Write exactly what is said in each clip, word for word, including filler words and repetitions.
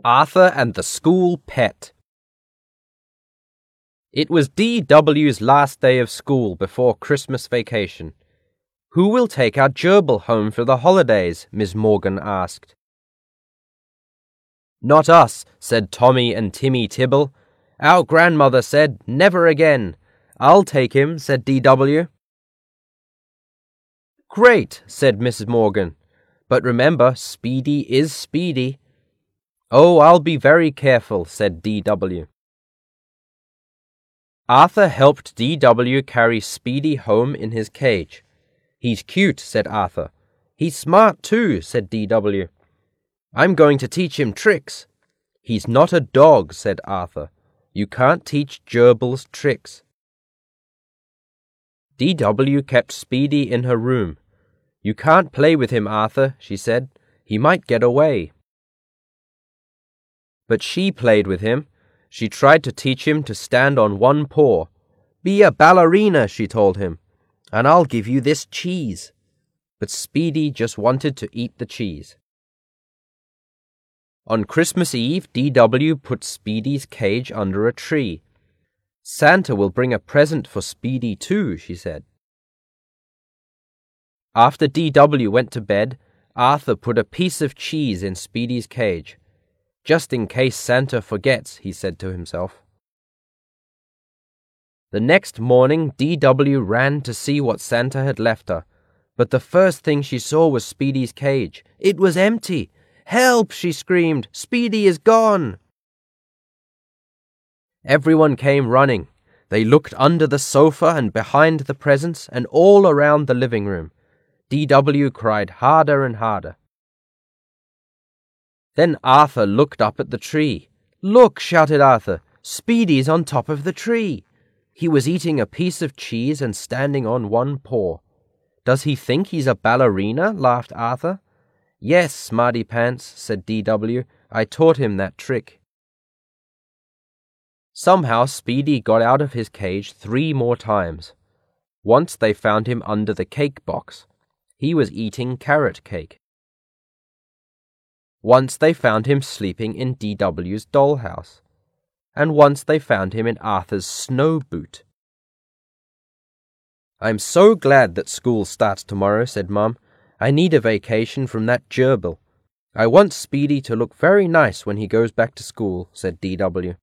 Arthur and the School Pet. It was D W's last day of school before Christmas vacation. "Who will take our gerbil home for the holidays?" Miss Morgan asked. "Not us," said Tommy and Timmy Tibble. "Our grandmother said, never again." "I'll take him," said D W. "Great," said Missus Morgan. "But remember, Speedy is Speedy." "Oh, I'll be very careful," said D W. Arthur helped D W carry Speedy home in his cage. "He's cute," said Arthur. "He's smart too," said D W. "I'm going to teach him tricks." "He's not a dog," said Arthur. "You can't teach gerbils tricks." D W kept Speedy in her room. "You can't play with him, Arthur," she said. "He might get away." But she played with him. She tried to teach him to stand on one paw. "Be a ballerina," she told him, "and I'll give you this cheese." But Speedy just wanted to eat the cheese. On Christmas Eve, D W put Speedy's cage under a tree. "Santa will bring a present for Speedy too," she said. After D W went to bed, Arthur put a piece of cheese in Speedy's cage. "Just in case Santa forgets," he said to himself. The next morning, D W ran to see what Santa had left her, but the first thing she saw was Speedy's cage. It was empty. "Help!" she screamed. "Speedy is gone!" Everyone came running. They looked under the sofa and behind the presents and all around the living room. D W cried harder and harder. Then Arthur looked up at the tree. "Look!" shouted Arthur. "Speedy's on top of the tree." He was eating a piece of cheese and standing on one paw. "Does he think he's a ballerina?" laughed Arthur. "Yes, smarty pants," said D W. "I taught him that trick." Somehow Speedy got out of his cage three more times. Once they found him under the cake box. He was eating carrot cake. Once they found him sleeping in D W's dollhouse. And once they found him in Arthur's snow boot. "I'm so glad that school starts tomorrow," said Mum. "I need a vacation from that gerbil. I want Speedy to look very nice when he goes back to school," said D W.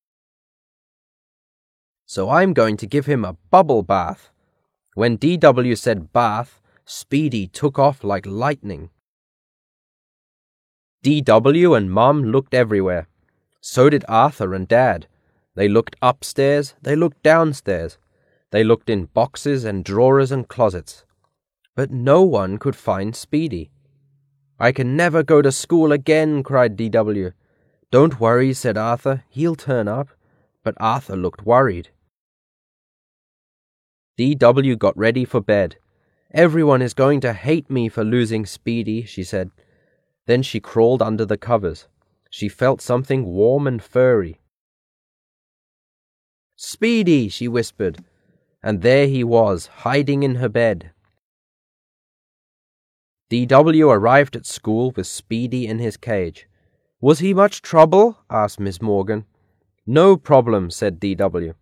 "So I'm going to give him a bubble bath." When D W said bath, Speedy took off like lightning. D W and Mum looked everywhere. So did Arthur and Dad. They looked upstairs, they looked downstairs. They looked in boxes and drawers and closets. But no one could find Speedy. "I can never go to school again," cried D W. "Don't worry," said Arthur. "He'll turn up." But Arthur looked worried. D W got ready for bed. "Everyone is going to hate me for losing Speedy," she said. Then she crawled under the covers. She felt something warm and furry. "Speedy," she whispered. And there he was, hiding in her bed. D W arrived at school with Speedy in his cage. "Was he much trouble?" asked Miss Morgan. "No problem," said D W.